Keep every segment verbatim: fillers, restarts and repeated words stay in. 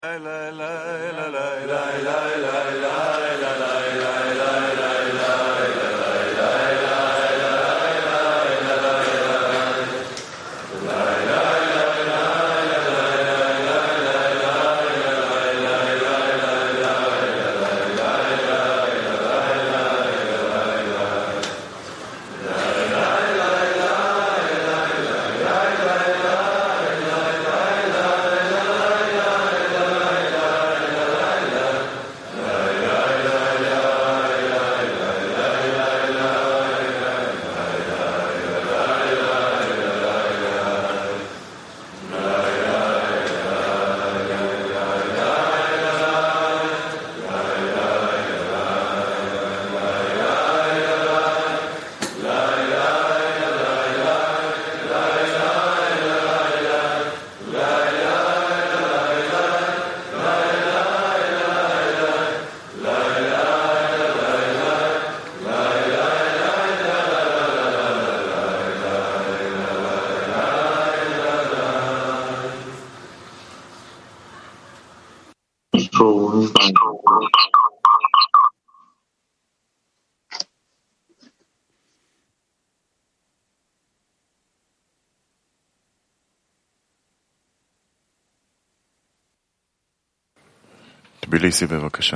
תביליסי בבקשה.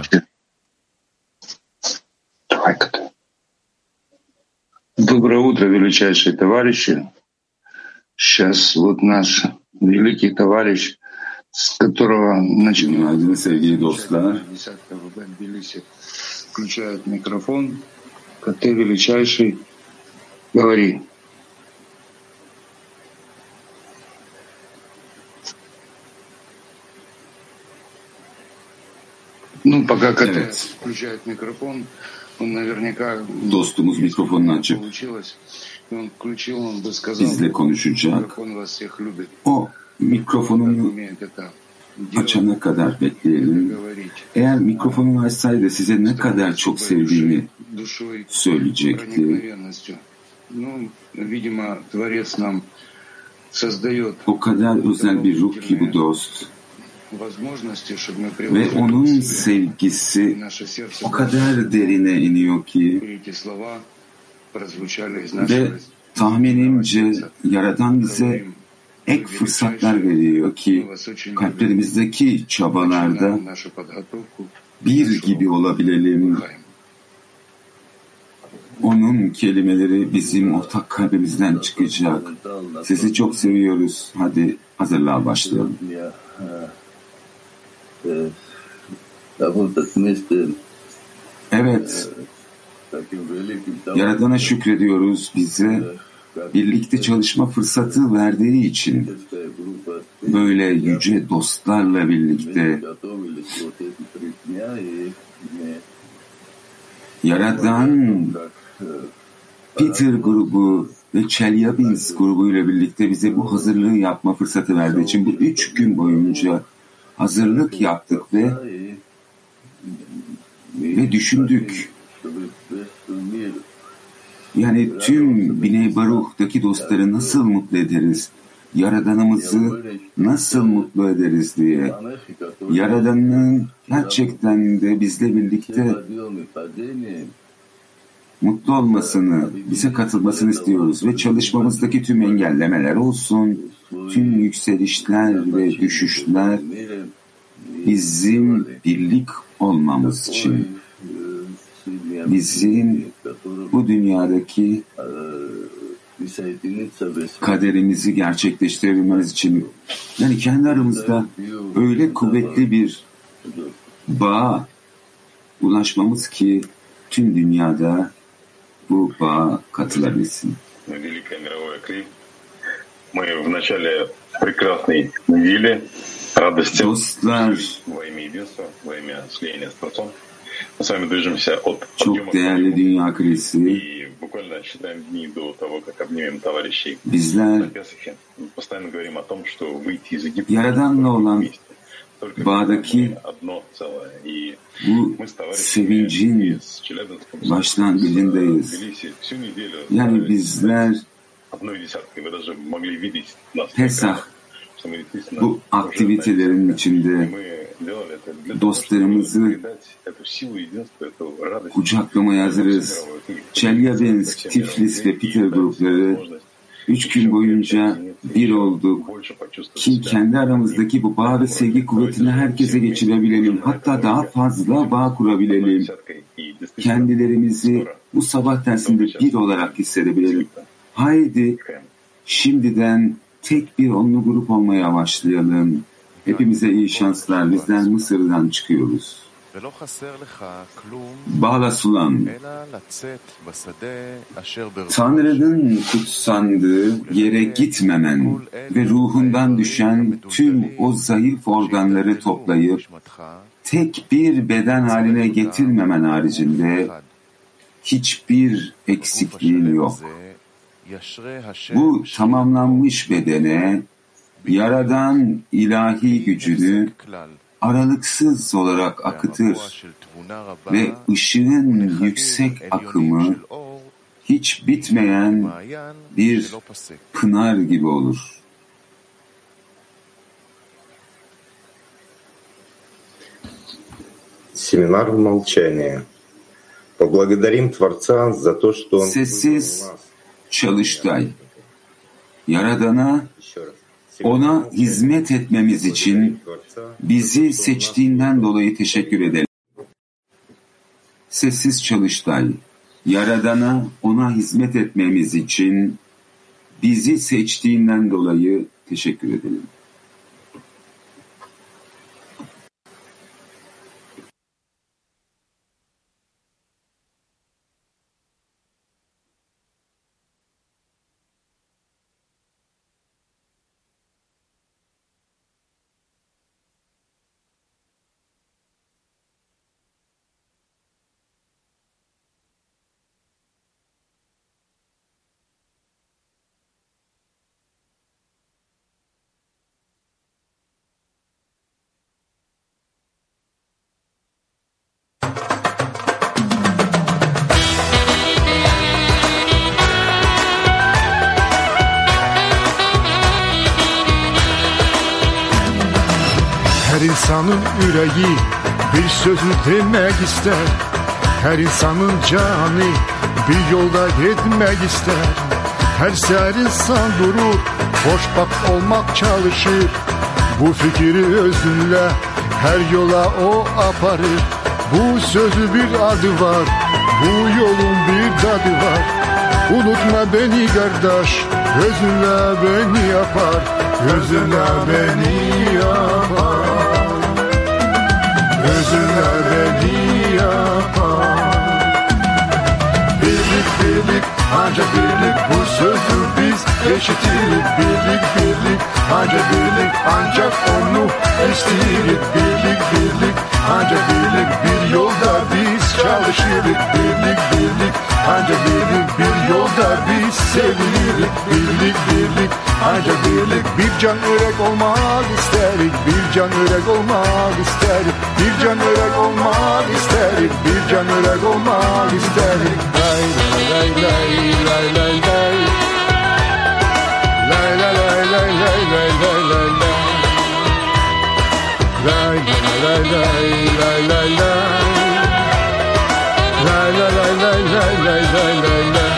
Доброе утро, величайшие товарищи. Сейчас вот наш великий товарищ, с которого начинаем sevgili dostlar. Включает микрофон. Ты величайший, говори. Ну, пока Катя включает микрофон, он наверняка dostumuz mikrofonunu açıp bizle konuşacak. O mikrofonunu açana kadar bekleyelim. Eğer mikrofonunu açsaydı size ne kadar çok sevdiğini söyleyecekti. O kadar özel bir ruh ki bu dost. Ve onun sevgisi o kadar derine iniyor ki ve tahminimce Yaradan bize ek fırsatlar veriyor ki kalplerimizdeki çabalarda bir gibi olabilelim. Onun kelimeleri bizim ortak kalbimizden çıkacak. Sizi çok seviyoruz. Hadi hazırlığa başlayalım. Evet, Yaradan'a şükrediyoruz bize birlikte çalışma fırsatı verdiği için. Böyle yüce dostlarla birlikte Yaradan Peter grubu ve Chelyabinsk grubuyla birlikte bize bu hazırlığı yapma fırsatı verdiği için bu üç gün boyunca hazırlık yaptık ve ve düşündük. Yani tüm Biney Baruch'taki dostları nasıl mutlu ederiz? Yaradanımızı nasıl mutlu ederiz diye. Yaradanın gerçekten de bizle birlikte mutlu olmasını, bize katılmasını istiyoruz ve çalışmamızdaki tüm engellemeler olsun, tüm yükselişler ve düşüşler bizim birlik olmamız için, bizim bu dünyadaki kaderimizi gerçekleştirebilmemiz için, yani kendi aramızda öyle kuvvetli bir bağa ulaşmamız ki tüm dünyada bu bağa katılabilsin. Dostlar, çok değerli dünya krizi, bizler Yaradan'la olan bağdaki bu sevincin başlangıcındayız. Yani bizler Pesah bu aktivitelerin içinde Dostlarımızı kucaklamaya hazırız. Çelyabinsk, Tiflis ve Peter grupları üç gün boyunca bir olduk ki kendi aramızdaki bu bağ ve sevgi kuvvetini herkese geçirebilelim. Hatta daha fazla bağ kurabilelim. Kendilerimizi bu sabah dersinde bir olarak hissedebilelim. Haydi şimdiden tek bir onlu grup olmaya başlayalım. Hepimize iyi şanslar. Bizden Mısır'dan çıkıyoruz. Bağla sulan. Tanrı'nın kutsandığı yere gitmemen ve ruhundan düşen tüm o zayıf organları toplayıp tek bir beden haline getirmemen haricinde hiçbir eksikliğin yok. Bu tamamlanmış bedene Yaradan ilahi gücünü aralıksız olarak akıtır ve ışığın yüksek akımı hiç bitmeyen bir pınar gibi olur. Семинар в молчании. Поблагодарим Творца за то, что Он Sessiz çalıştay. Yaradana, ona hizmet etmemiz için bizi seçtiğinden dolayı teşekkür edelim. Sessiz çalıştay. Yaradana, ona hizmet etmemiz için bizi seçtiğinden dolayı teşekkür edelim. Her insanın yüreği bir sözü demek ister. Her insanın canı bir yolda gitmek ister. Her seher insan durur, hoşbak olmak çalışır. Bu fikri özünle her yola o aparır. Bu sözü bir adı var, bu yolun bir tadı var. Unutma beni kardeş, özünle beni yapar. Özünle beni yapar. Özünle beni yapar. Birlik birlik ancak birlik, bu sözü biz eşitirik. Birlik birlik ancak birlik, ancak onu isteyirik. Birlik birlik ancak birlik, bir yolda biz çalışırız. Birlik birlik ancak birlik, bir yolda biz sevinirik. Birlik birlik ancak birlik, bir can yürek olmak isterik. Bir can yürek olmak isterik. Bir can yürek olmak isterik. Bir can yürek olmak isterik. Lay lay lay lay lay lay. Lay lay lay lay lay lay lay lay lay. Lay lay lay lay lay lay. Lay lay lay lay lay lay lay lay lay.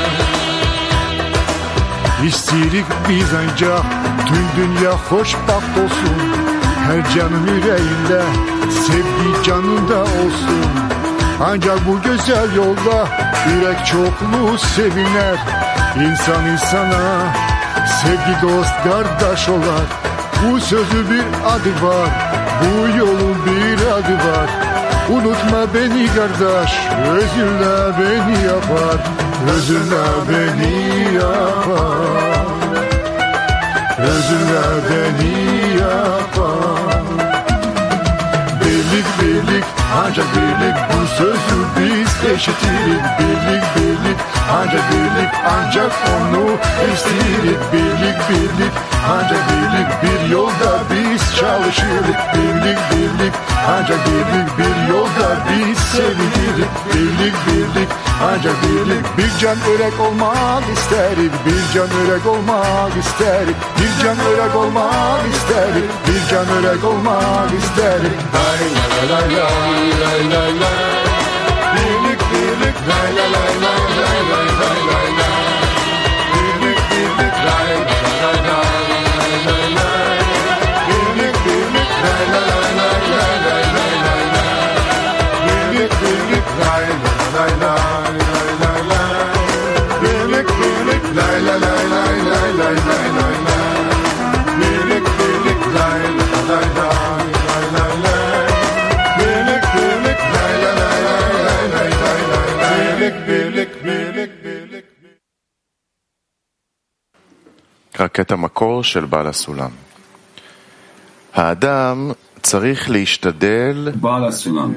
İstirik biz ancak tüm dünya hoşbaht olsun. Her canın yüreğinde sevgi canında olsun. Ancak bu güzel yolda yürek çokluğu seviner. İnsan insana sevgi dost kardeş olar. Bu sözü bir adı var, bu yolun bir adı var. Unutma beni kardeş, özünle beni yapar. Özünle beni yapar. Özünle beni yapar. Birlik birlik ancak birlik, bu sözü biz eşitirik. Birlik birlik ancak birlik, ancak onu isteyirik. Birlik birlik ancak birlik, bir yolda biz çalışırız. Birlik birlik ancak birlik, bir yolda biz sevinirik. Birlik birlik ancak birlik. Bir can yürek olmak isterik, bir can yürek olmak isterik, bir can yürek olmak isterik, bir can yürek olmak isterik. Lay lay lay lay lay lay lay. Birlik birlik lay lay lay lay lay lay lay lay lay. Birlik birlik lay lay lay lay lay lay. Birlik birlik lay lay lay lay lay lay lay lay lay. Birlik birlik lay lay lay lay lay lay. Birlik birlik lay lay lay lay lay lay lay lay lay. Birlik birlik lay lay lay lay lay lay. Birlik birlik lay lay lay lay lay lay lay. Birlik birlik birlik birlik. רק המקור של בעל הסולם. האדם צריך להשתדל בעל הסולם.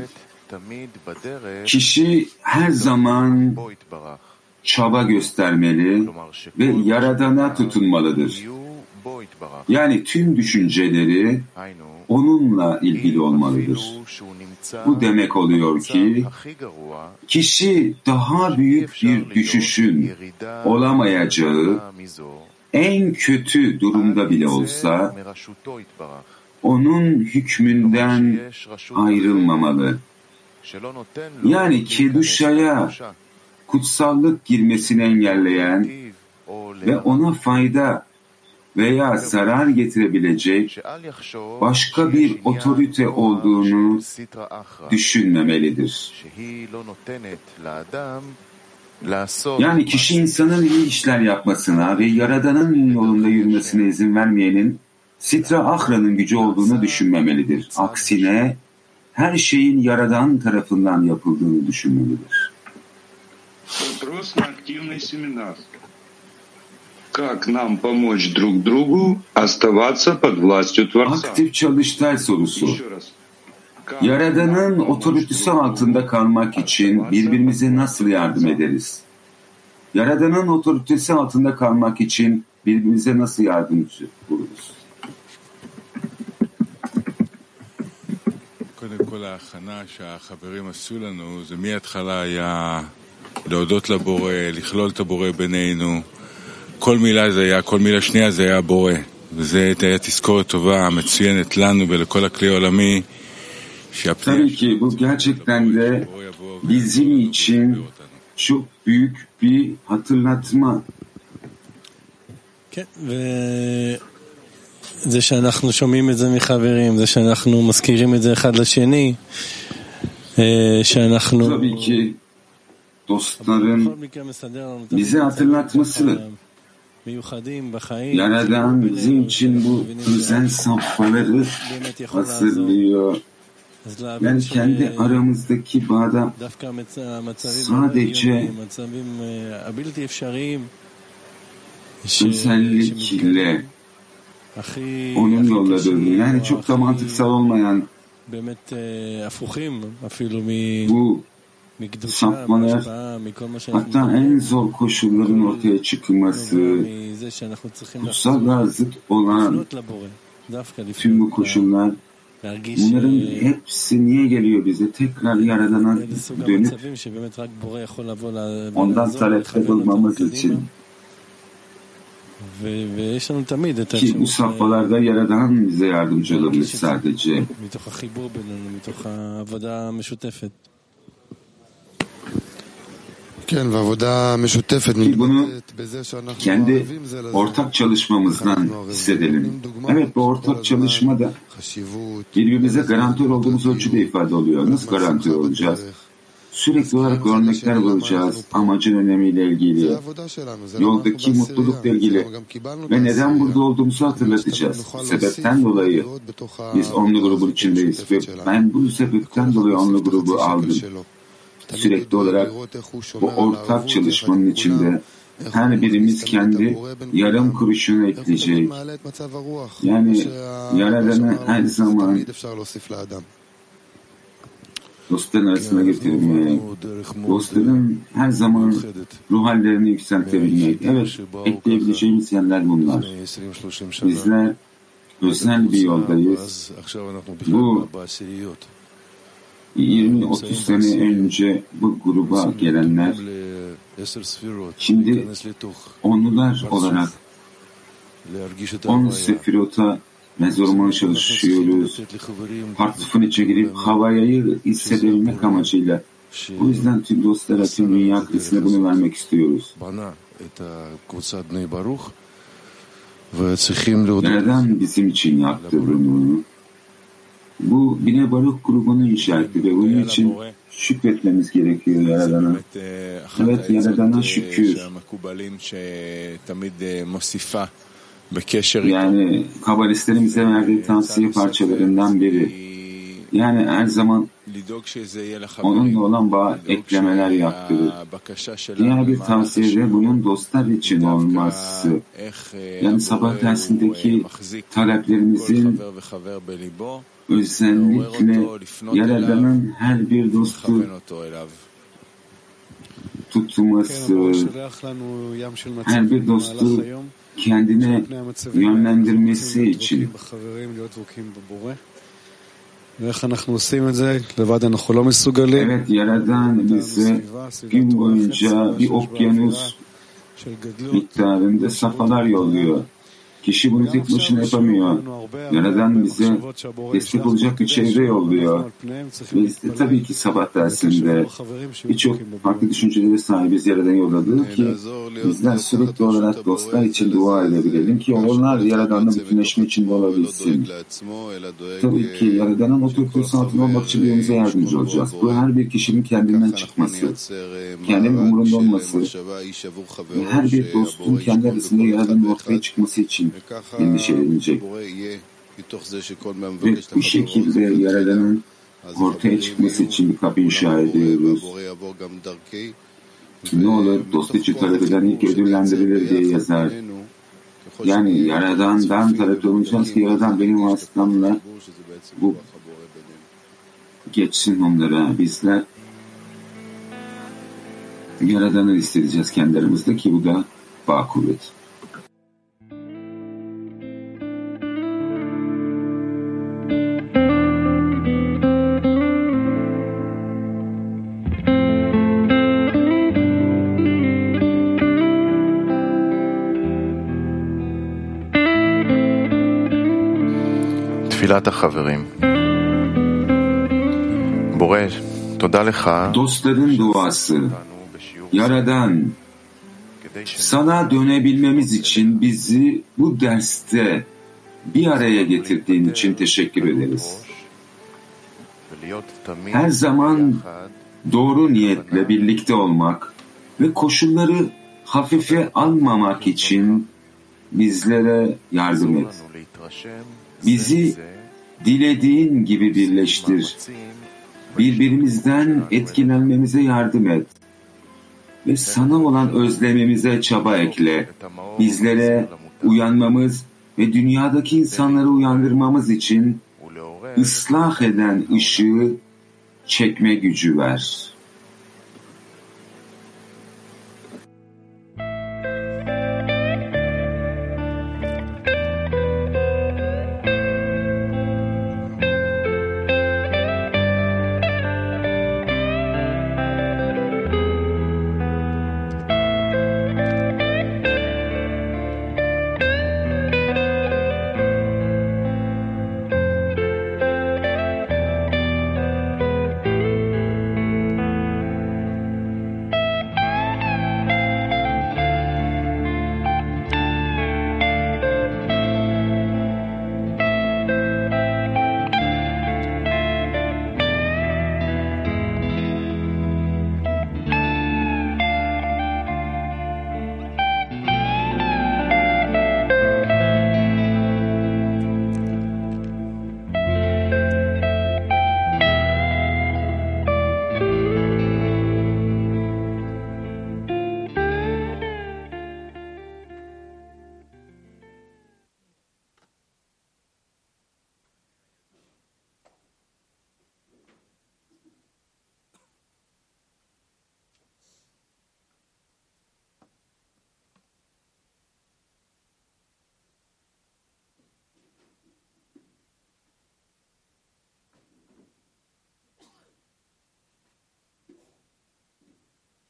Kişi her zaman çaba göstermeli ve Yaradan'a tutunmalıdır. Yani tüm düşünceleri onunla ilgili olmalıdır. Bu demek oluyor ki kişi daha büyük bir düşüşün olamayacağı en kötü durumda bile olsa onun hükmünden ayrılmamalı. Yani Kedusha'ya kutsallık girmesini engelleyen ve ona fayda veya zarar getirebilecek başka bir otorite olduğunu düşünmemelidir. Yani kişi insanın iyi işler yapmasına ve Yaradan'ın yolunda yürümesine izin vermeyenin Sitra Achra'nın gücü olduğunu düşünmemelidir. Aksine her şeyin Yaradan tarafından yapıldığını düşünmelidir. Вопрос на активный семинар. Как нам помочь друг другу оставаться под властью Творца? Aktif çalıştay sorusu. Yaradan'ın otoritesi altında kalmak için birbirimize nasıl yardım ederiz? Yaradan'ın otoritesi altında kalmak için birbirimize nasıl yardımcı oluruz? קודם כל ההכנה שהחברים עשו לנו זה מההתחלה היה להודות לבורא, לכלול את הבורא בינינו. כל מילה זה היה, כל מילה שנייה זה היה הבורא. וזה היה תזכורת טובה, מצוינת לנו ולכל הכלי העולמי. Tabii ki bu gerçekten de bizim için çok büyük bir hatırlatma. זה שאנחנו שומעים את זה מחברים, זה שאנחנו מזכירים את זה אחד לשני, שאנחנו... Tabii ki dostların bize hatırlatması, Yaradan bizim için bu özel safhaları hazırlıyor. Yani kendi aramızdaki bağda sadece özellikle onun yolladığını, yani çok da mantıksal olmayan bu sapmalar, hatta en zor koşulların ortaya çıkması, kutsallığa zıt olan tüm bu koşullar, bunların hepsi niye geliyor bize? Tekrar Yaradan'a dönüp ondan talepte bulmamız için. Ki bu safhalarda Yaradan bize yardımcı olabilir sadece. Ki bunu kendi ortak çalışmamızdan hissedelim. Evet, bu ortak çalışmada birbirimize garantör olduğumuz ölçüde ifade oluyor. Nasıl garantör olacağız? Sürekli olarak örnekler bulacağız amacın önemiyle ilgili, yoldaki mutlulukla ilgili ve neden burada olduğumuzu hatırlatacağız. Bu sebepten dolayı biz onlu grubun içindeyiz ve ben bu sebepten dolayı onlu grubu aldım. Sürekli olarak bu ortak çalışmanın içinde her birimiz kendi yarım kuruşunu ekleyecek. Yani Yaradan'ı her zaman dostların arasına getirmek, dostların her zaman ruh hallerini yükseltebilmek. Evet, ekleyebileceğimiz yerler bunlar. Bizler özel bir yoldayız. Bu yirmi otuz sene önce bu gruba gelenler şimdi onlular olarak on sefirota mezormaya çalışıyoruz. Partifin içe girip havayayı hissedebilmek amacıyla. O yüzden tüm dostlara, tüm dünya krizine bunu vermek istiyoruz. Neden bizim için yaptı bunu? Bu Bine Baruch grubunu inşa etti ve bunun için şükretmemiz gerekiyor Yaradan'a. Evet, Yaradan'a şükür. Yani kabalistlerin bize verdiği tavsiye parçalarından biri. Yani her zaman onunla olan bağ eklemeler yaptırır. Diğer bir tavsiye de bunun dostlar için olması. Yani sabah dersindeki taleplerimizin özellikle Yaradan'ın her bir dostu tutması, her bir dostu kendine yönlendirmesi için. Evet, Yaradan bize gün boyunca bir okyanus miktarında safhalar yolluyor. Kişi bunu tek başına yapamıyor. Yaradan bize destek olacak bir çevre yolluyor. Ve işte tabii ki sabah dersinde birçok farklı düşüncelere sahibiz Yaradan yolladığı ki bizler sürekli olarak dostlar için dua edebilelim ki onlar Yaradan'la bütünleşme içinde olabilsin. Tabii ki Yaradan'ın otoritesi altında olmak için birbirimize yardımcı olacağız. Bu her bir kişinin kendinden çıkması, kendinin umurunda olması ve her bir dostun kendi arasında Yaradan'ın ortaya çıkması için endişelenecek. Ve bu şekilde Yaradan'ın ortaya çıkması için bir kapı inşa ediyoruz. Ne olur dost için talep eden ilk ödüllendirilir diye yazar. Yani Yaradan'dan talep olacağız ki Yaradan benim vasıtamla bu geçsin onlara. Bizler Yaradan'ı isteyeceğiz kendi aramızda ki bu da bağ kuvveti. תפילת החברים. בורא, תודה לך. Dostların duası. Yaradan, sana dönebilmemiz için bizi bu derste bir araya getirdiğin için teşekkür ederiz. Her zaman doğru niyetle birlikte olmak ve koşulları hafife almamak için bizlere yardım et. Bizi dilediğin gibi birleştir. Birbirimizden etkilenmemize yardım et. Ve sana olan özlemimize çaba ekle. Bizlere uyanmamız ve dünyadaki insanları uyandırmamız için ıslah eden ışığı çekme gücü ver.